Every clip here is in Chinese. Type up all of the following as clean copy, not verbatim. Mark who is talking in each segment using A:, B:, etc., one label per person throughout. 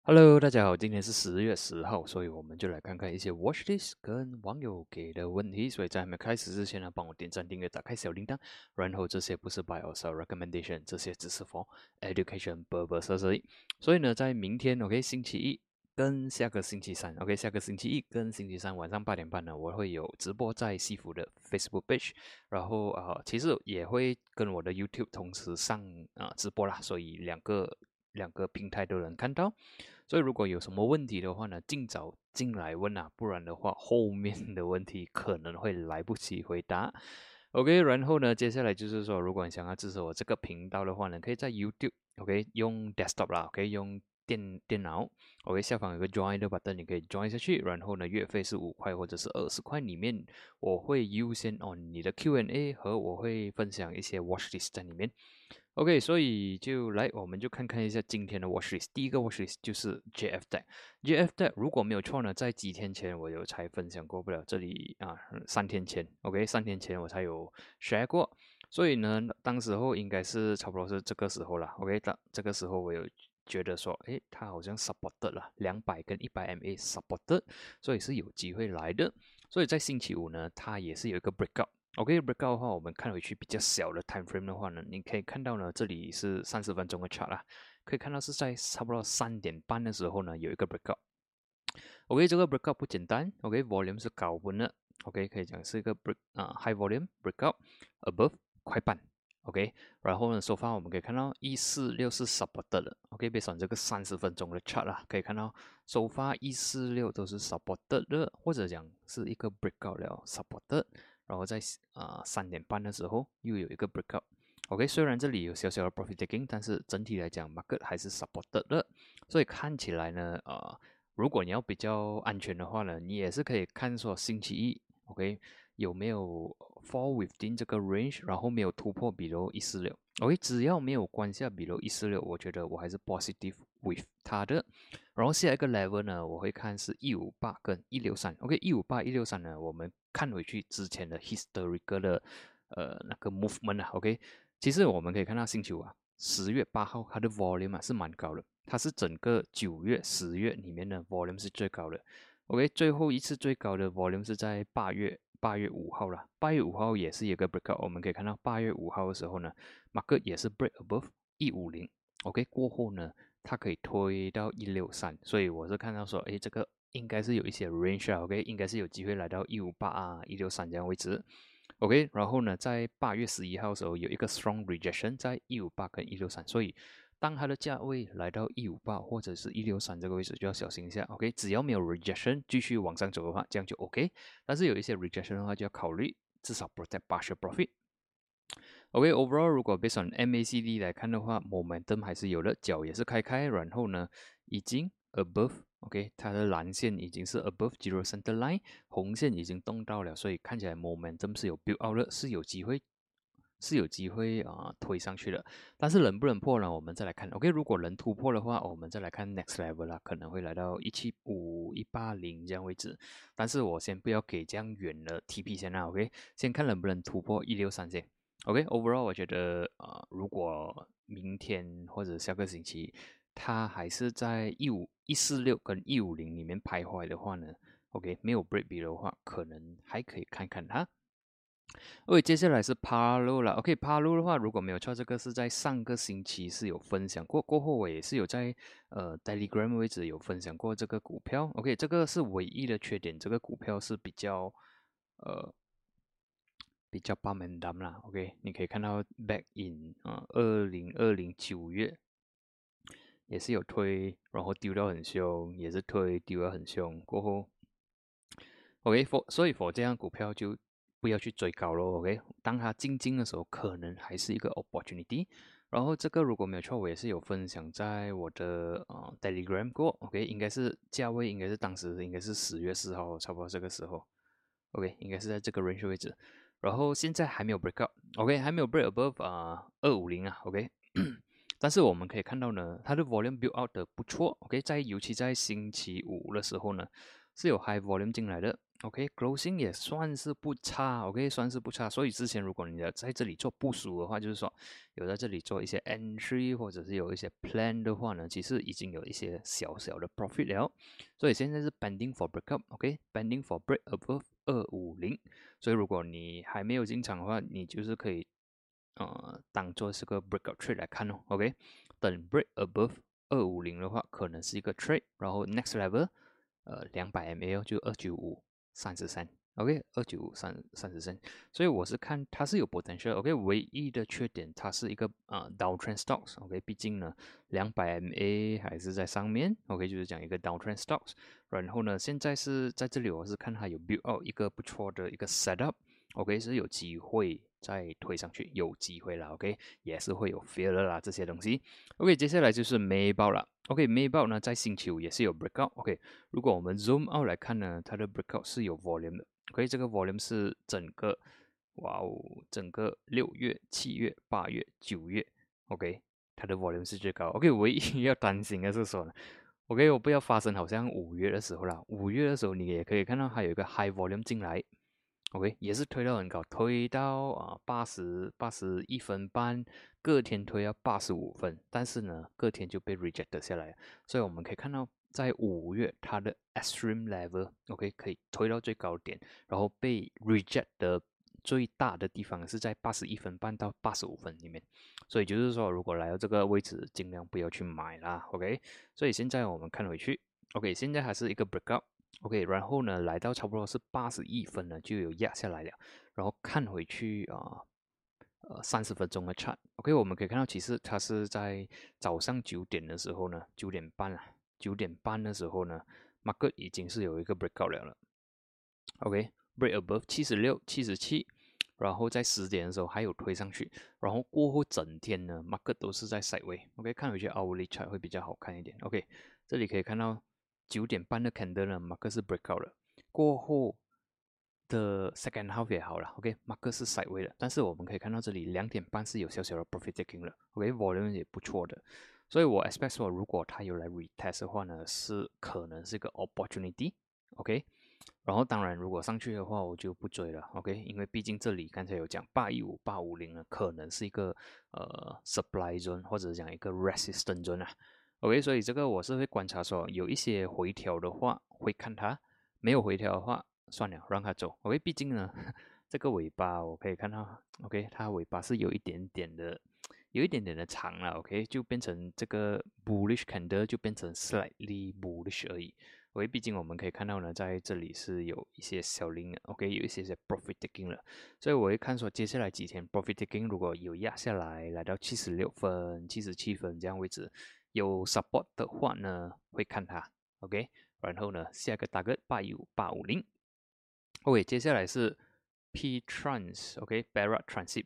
A: Hello，大家好，今天是10月10号，所以我们就来看看一些 watchlist 跟网友给的问题。所以在还没开始之前呢，帮我点赞、订阅、打开小铃铛。然后这些不是 buy or sell recommendation，这些只是 for education purposes 而已。所以呢，在明天，OK，星期一跟下个星期三，OK，下个星期一跟星期三晚上8点半呢，我会有直播在西服的 Facebook page，然后其实也会跟我的 YouTube 同时上直播啦，所以两个平台都能看到。所以如果有什么问题的话呢，尽早进来问啊，不然的话后面的问题可能会来不及回答。OK，然后呢，接下来就是说，如果你想要支持我这个频道的话呢，可以在 YouTube，OK，用 desktop 啦，OK，用电脑，OK，下方有个 join 的 button，你可以 join 下去。然后呢，月费是5块或者是20块，里面我会优先你的 Q&A 和我会分享一些 watchlist 在里面。OK，所以我们就看看一下今天的 watchlist。第一个 watchlist 就是 JF Deck。JF Deck 如果没有错呢，在几天前我有才分享过，不了这里3天前，OK，3天前我才有 share 过。所以呢，当时候应该是差不多是这个时候了，OK，这个时候我有觉得说，诶，它好像 supported 了200跟100MA supported，所以是有机会来的。所以在星期五呢，它也是有一个 breakout。OK，breakout 的话，我们看回去比较小的 time frame 的话呢，你可以看到呢，这里是30分钟的 chart 啦，可以看到是在差不多3点半的时候呢，有一个 breakout。OK，这个 breakout 不简单，OK，volume 是高温的，OK，可以讲是一个 high volume breakout above 快半，OK，然后呢，so far 我们可以看到146是 supported 的，OK，别算这个30分钟的 chart 啦，可以看到 so far 146都是 supported 的，或者讲是一个 breakout 了 supported。然后在3点半的时候又有一个 breakout。OK，虽然这里有小小的 profit taking，但是整体来讲 market 还是 supported 的，所以看起来呢，如果你要比较安全的话呢，你也是可以看说星期一，OK，有没有 fall within 这个 range，然后没有突破 below 146，OK，只要没有关下 below 146，我觉得我还是 positive with 它的。然后下一个 level 呢，我会看是158跟163，OK，158、163呢，我们看回去之前的 historical 的那个 movement 啊，OK，其实我们可以看到星期五10月8号它的 volume 是蛮高的，它是整个9月、10月里面的 volume 是最高的。OK，最后一次最高的 volume 是在8月5号了，8月5号也是有个 breakout，我们可以看到8月5号的时候呢，market 也是 break above 150，OK，过后呢，它可以推到163，所以我是看到说，诶，这个应该是有一些 range 啊，OK，应该是有机会来到158163这样位置。OK，然后呢，在8月11号的时候有一个 strong rejection 在158跟163，所以当它的价位来到158或者是163这个位置就要小心一下。OK，只要没有 rejection 继续往上走的话，这样就 OK。但是有一些 rejection 的话就要考虑至少 protect partial profit。OK，overall 如果 based on MACD 来看的话，momentum 还是有的，脚也是开，然后呢，已经 above，OK，它的蓝线已经是 above zero center line，红线已经动到了，所以看起来 momentum 是有 build out 的，是有机会推上去的。但是能不能破呢？我们再来看。OK，如果能突破的话，我们再来看 next level 啦，可能会来到175、180这样位置。但是我先不要给这样远的 TP 先啦，OK，先看能不能突破163先。OK，overall 我觉得如果明天或者下个星期它还是在146跟150里面徘徊的话呢，OK，没有 break below 的话，可能还可以看看它。OK，接下来是 Palo 了。OK，Palo 的话，如果没有错，这个是在上个星期是有分享过，过后我也是有在Telegram 位置有分享过这个股票。OK，这个是唯一的缺点，这个股票是呃比较 bum and dump 啦。OK，你可以看到 back in 2020 9月也是有推，然后丢掉很凶，也是推丢得很凶，过后 所以 for 这样股票就不要去追高咯。OK，当它静静的时候，可能还是一个 opportunity。然后这个如果没有错，我也是有分享在我的Telegram 过。OK，应该是价位，应该是当时应该是10月4号，差不多这个时候。OK，应该是在这个 range 位置。然后现在还没有 break up，OK，还没有 break above 250啊，OK。但是我们可以看到呢，它的 volume build out 的不错，OK，尤其在星期五的时候呢， 是有 high volume 进来的。OK，closing 也算是不差，OK，算是不差。所以之前如果你要在这里做部署的话，就是说有在这里做一些 entry 或者是有一些 plan 的话呢，其实已经有一些小小的 profit 了。所以现在是 pending for breakup，OK，pending for break above 250。所以如果你还没有进场的话，你就是可以当做是个 breakout trade 来看哦，OK，等 break above 250的话，可能是一个 trade，然后 next level。200 ml 就29533，OK， 29533，所以我是看它是有 potential，OK， 唯一的缺点它是一个downtrend stocks，OK， 毕竟呢200 mA 还是在上面，OK， 就是讲一个 downtrend stocks， 然后呢现在是在这里我是看它有 build out 一个不错的一个 setup，OK， 是有机会再推上去，有机会啦，OK， 也是会有 fear 啦这些东西，OK， 接下来就是美宝了。OK， 美宝呢在星期五也是有 breakout。OK， 如果我们 zoom out 来看呢，它的 breakout 是有 volume 的。OK， 这个 volume 是整个，哇哦，整个6月、7月、8月、9月，OK， 它的 volume 是最高。OK， 唯一要担心的是说呢，OK， 我不要发生好像5月的时候啦。5月的时候你也可以看到它有一个 high volume 进来。OK， 也是推到很高，推到81分半，隔天推到85分，但是呢，隔天就被 reject 下来了。所以我们可以看到，在5月它的 extreme level，OK，可以推到最高点，然后被 reject 的最大的地方是在81分半到85分里面。所以就是说，如果来到这个位置，尽量不要去买啦，OK。所以现在我们看回去，OK，现在还是一个 breakout。OK， 然后呢，来到差不多是81分呢，就有压下来了。然后看回去30分钟的 chart，OK， 我们可以看到，其实它是在早上9点的时候呢，9点半了，9点半的时候呢，market 已经是有一个 breakout 了，OK，break above 76、77，然后在10点的时候还有推上去，然后过后整天呢，market 都是在 sideway，OK， 看回去 hourly chart 会比较好看一点，OK， 这里可以看到9点半的 candle 呢，market 是 breakout 了，过后的 second half 也好了，OK，market 是 sideway 的，但是我们可以看到这里2点半是有小小的 profit taking 了，OK，volume 也不错的，所以我 expect 说如果它有来 retest 的话呢，是可能是一个 opportunity，OK，然后当然如果上去的话我就不追了，OK，因为毕竟这里刚才有讲815、850呢，可能是一个supply zone 或者讲一个 resistance zone 啊，OK，所以这个我是会观察说有一些回调的话会看它，没有回调的话。算了，让它走。OK，毕竟呢，这个尾巴我可以看到，OK，它尾巴是有一点点的，有一点点的长了。OK，就变成这个 bullish candle 就变成 slightly bullish 而已。OK，毕竟我们可以看到呢，在这里是有一些小零，OK，有一些 profit taking 了。所以我会看说接下来几天 profit taking 如果有压下来，来到76分、77分这样位置有 support 的话呢，会看它。OK，然后呢，下个大概815、850。OK，接下来是 P Trans，OK，Barat Transit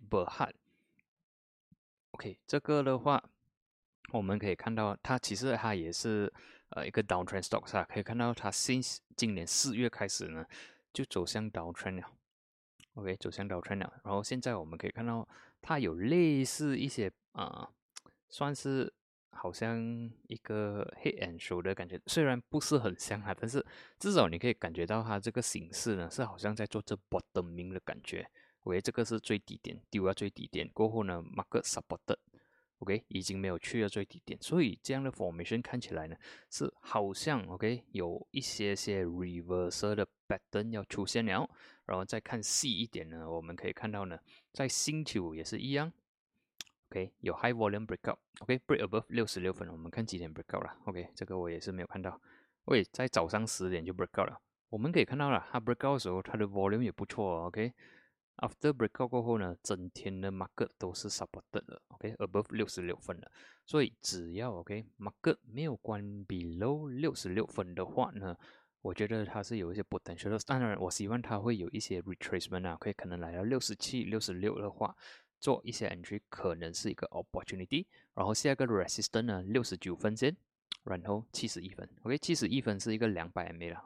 A: Berhad。OK，这个的话，我们可以看到它其实它也是一个 downtrend stocks 啊，可以看到它今年4月开始呢就走向 downtrend 了，OK， 走向 downtrend 了。然后现在我们可以看到它有类似一些算是好像一个 head and shoulder 的感觉，虽然不是很像啊，但是至少你可以感觉到它这个形式呢是好像在做这 bottoming 的感觉。OK，这个是最低点，丢到最低点过后呢 ，market supported。OK， 已经没有去到最低点，所以这样的 formation 看起来呢是好像 OK 有一些 reversal 的 pattern 要出现了，然后再看细一点呢，我们可以看到呢，在星期五也是一样。OK， 有 high volume breakout，OK，break above 66分，我们看几点 breakout 了。OK，这个我也是没有看到。OK，在早上10点就 breakout 了。我们可以看到了，它 breakout 的时候，它的 volume 也不错。OK，after breakout 过后呢，整天的 market 都是 supported 的。OK，above 66分了。所以只要 OK，market 没有关 below 66分的话呢，我觉得它是有一些 potential 的。当然，我希望它会有一些 retracement 啊，可能来到67、66的话。做一些 entry 可能是一个 opportunity，然后下一个 resistance 呢69分先，然后71分，OK，71分是一个200 MA 了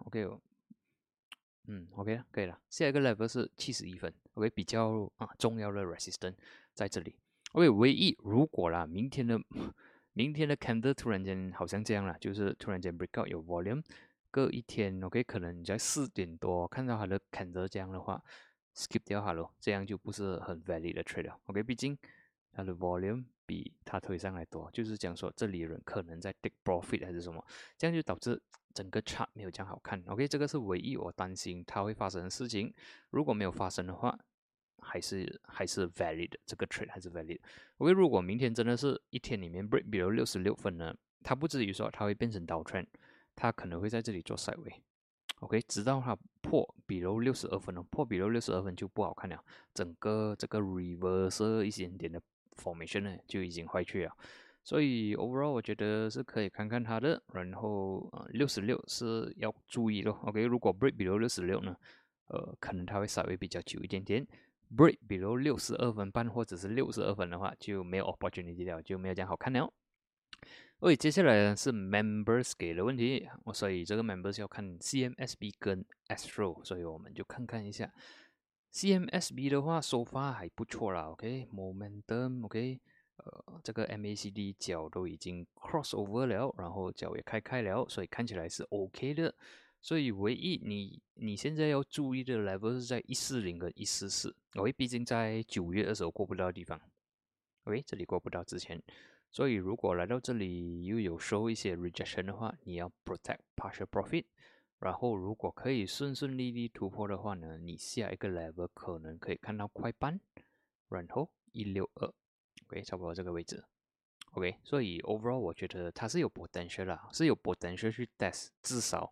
A: ，OK，OK 了，可以了。下一个 level 是71分，OK，比较重要的 resistance 在这里，OK，唯一如果啦，明天的 candle 突然间好像这样了，就是突然间 breakout 有 volume， 隔一天 ，OK， 可能你在4点多看到它的 candle 这样的话 ，skip 掉它咯，这样就不是很 valid 的 trade 了 ，OK， 毕竟它的 volume 比它推上来多，就是讲说这里人可能在 take profit 还是什么，这样就导致整个 chart 没有这样好看，OK， 这个是唯一我担心它会发生的事情，如果没有发生的话。还是 valid 这个 trade 还是 valid。OK， 如果明天真的是一天里面 break below 66分呢，它不至于说它会变成 down trend，它可能会在这里做 sideway。OK， 直到它破 below 62分哦，破 below 62分就不好看了，整个这个 reverse 一点点的 formation 呢就已经坏去了。所以 overall 我觉得是可以看看它的，然后66是要注意咯。OK， 如果 break below 66呢，可能它会稍微比较久一点点。break below 62分半或者是62分的话，就没有 opportunity 了，就没有这样好看了。OK， 接下来是 members 给的问题，所以这个 members 要看 CMSB 跟 Astro， 所以我们就看看一下 CMSB 的话，so far 还不错啦。OK，momentum，OK，这个 MACD 角都已经 cross over 了，然后角也开了，所以看起来是 OK 的。所以唯一你现在要注意的 level 是在140跟144。OK，毕竟在9月的时候过不到的地方。OK，这里过不到之前，所以如果来到这里又有收一些 rejection 的话，你要 protect partial profit。然后如果可以顺利利突破的话呢，你下一个 level 可能可以看到快半，然后162，OK， 差不多这个位置。OK， 所以 overall 我觉得它是有 potential 啦，是有 potential 去 test 至少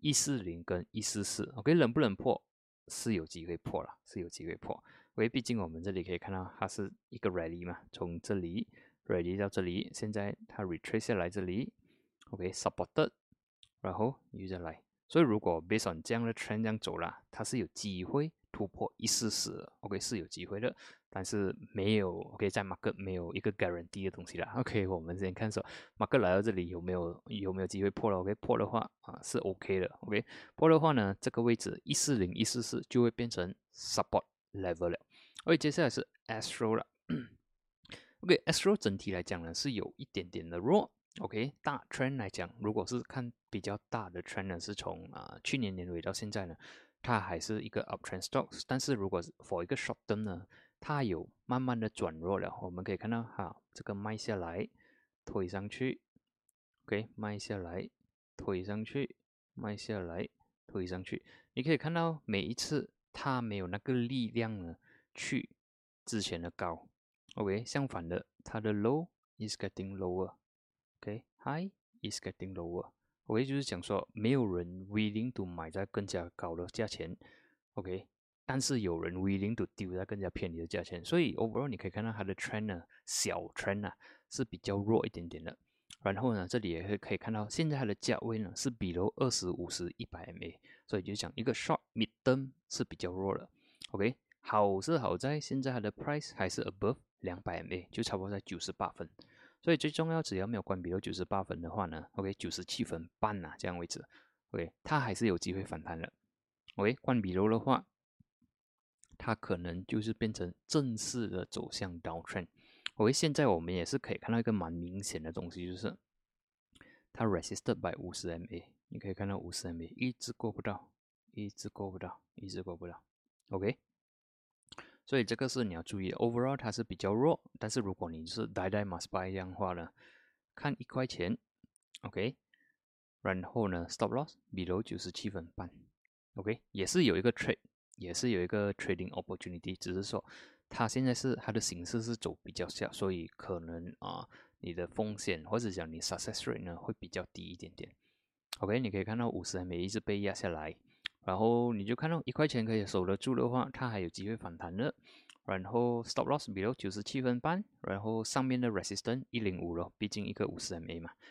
A: 140跟144。OK， 能不能破是有机会破了，是有机会破。因为毕竟我们这里可以看到它是一个 rally 嘛，从这里 rally 到这里，现在它 retrace 下来这里 ，OK supported， 然后又再来。所以如果 based on 这样的 trend 这样走啦，它是有机会突破144的 ，OK 是有机会的。但是没有 OK， 在 market 没有一个 guarantee 的东西啦。OK， 我们先看说 market 来到这里有没有机会破了 ？OK， 破的话是 OK 的。OK， 破的话呢，这个位置140、144就会变成 support level 了。OK， 接下来是 Astro 了。OK，Astro 整体来讲呢是有一点点的弱。OK， 大 trend 来讲，如果是看比较大的 trend 呢，是从去年年尾到现在呢，它还是一个 uptrend stocks。但是如果是 for 一个 short term 呢，它有慢慢的转弱了。我们可以看到这个卖下来，推上去 ，OK， 卖下来，推上去，卖下来，推上去。你可以看到每一次它没有那个力量呢，去之前的高。OK， 相反的，它的 low is getting lower。OK，high is getting lower。OK， 就是讲说没有人 willing to 买在更加高的价钱。OK，但是有人 willing to 丢在更加便宜的价钱，所以 overall 你可以看到它的 trend 呢，小 trend 啊是比较弱一点点的。然后呢，这里也可以看到，现在它的价位呢是比如20、50、100MA，所以就讲一个 short mid term 是比较弱的。OK， 好是好在现在它的 price 还是 above 200MA，就差不多在98分。所以最重要，只要没有关闭到98分的话呢 ，OK， 97分半这样位置 ，OK， 它还是有机会反弹的。OK， 关闭楼的话，它可能就是变成正式的走向 downtrend。OK， 现在我们也是可以看到一个蛮明显的东西，就是它 resisted by 50MA， 你可以看到 50MA 一直过不到，一直过不到，一直过不到。OK， 所以这个是你要注意 ，overall 它是比较弱，但是如果你是 die must buy 这样的话呢，看1块钱 ，OK， 然后呢 stop loss below 97分半。OK， 也是有一个 trade， 也是有一个 trading opportunity， 只是说它现在是它的形式是走比较小，所以可能你的风险或者讲你 success rate 呢会比较低一点点。OK， 你可以看到50MA一直被压下来，然后你就看到1块钱可以守得住的话，它还有机会反弹的。然后 stop loss below 97分半，然后上面的 resistance 105咯，毕竟一个50MA嘛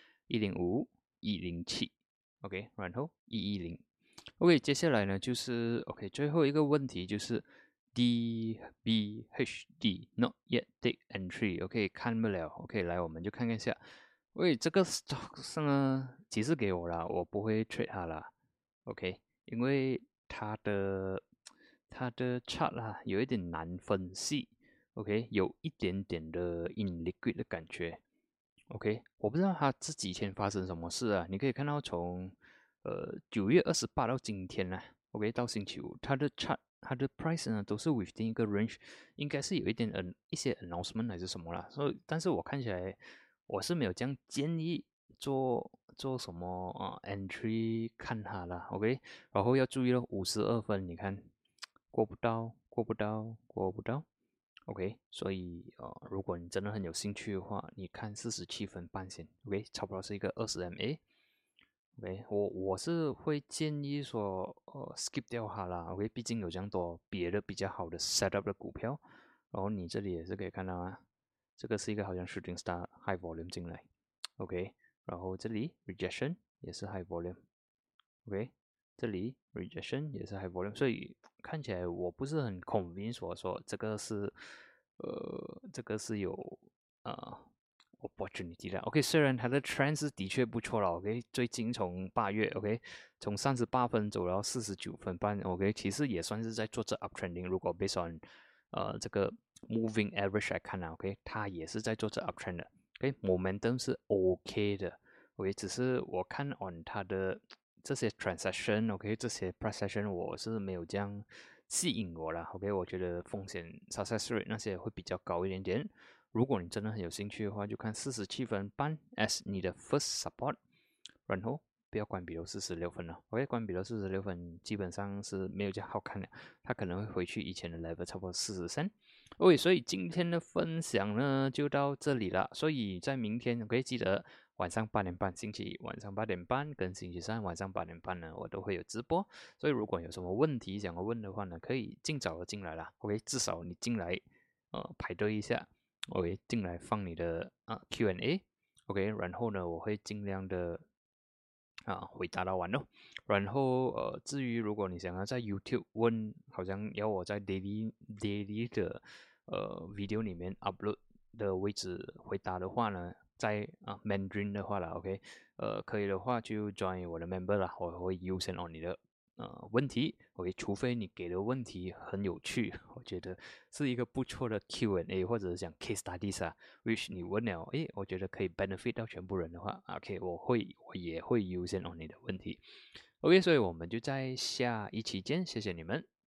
A: ，105、107。OK， 然后110。OK， 接下来呢就是 OK 最后一个问题就是 DBHD not yet take entry。OK， 看不了。OK， 来我们就看看一下。喂，这个 stock 呢，其实给我啦，我不会 trade 它啦。OK， 因为它的 chart 啦有一点难分析。OK， 有一点点的 illiquid 的感觉。OK， 我不知道它这几天发生什么事啊。你可以看到从 9月28到今天呢，OK 到星期五，它的 price 呢都是 within 一个 range，应该是有一些 announcement 还是什么啦，所以但是我看起来我是没有这样建议做什么entry 看它啦，OK，然后要注意了，52分，你看过不到，OK，所以如果你真的很有兴趣的话，你看47分半先，OK，差不多是一个20MA。OK，我是会建议说，skip 掉它啦。OK，毕竟有这样多别的比较好的 setup 的股票。然后你这里也是可以看到啊，这个是一个好像 shooting star high volume 进来，OK，然后这里 rejection 也是 high volume，OK，这里 rejection 也是 high volume，所以看起来我不是很 convinced 说这个是有opportunity 的，OK，虽然它的 trend 是的确不错了，OK，最近从8月，OK，从38分走到49分半，OK，其实也算是在做这 uptrending。如果 based on 这个 moving average 来看啊，OK，它也是在做这 uptrend 的，OK，momentum 是 OK 的，OK，只是我看 on 它的这些 transaction，OK，这些 price action 我是没有这样吸引我啦，OK，我觉得风险 success rate 那些会比较高一点点。如果你真的很有兴趣的话，就看47分半 as 你的 first support，然后不要关闭到46分了。OK，关闭到46分基本上是没有这样好看的，它可能会回去以前的 level，差不多43。OK，所以今天的分享呢就到这里了。所以在明天可以记得晚上8点半，星期一晚上8点半跟星期三晚上8点半呢，我都会有直播。所以如果有什么问题想要问的话呢，可以尽早的进来啦。OK，至少你进来排队一下。OK，进来放你的Q&A，OK，然后呢，我会尽量的回答到完咯。然后至于如果你想要在 YouTube 问，好像要我在 daily 的video 里面 upload 的位置回答的话呢，在Mandarin 的话啦，OK，可以的话就 join 我的 member 啦，我会优先你的问题，OK，除非你给的问题很有趣，我觉得是一个不错的 Q&A 或者是讲 case studies 啊，which 你问了，诶，我觉得可以 benefit 到全部人的话，OK，我也会优先你的问题，OK，所以我们就在下一期见，谢谢你们。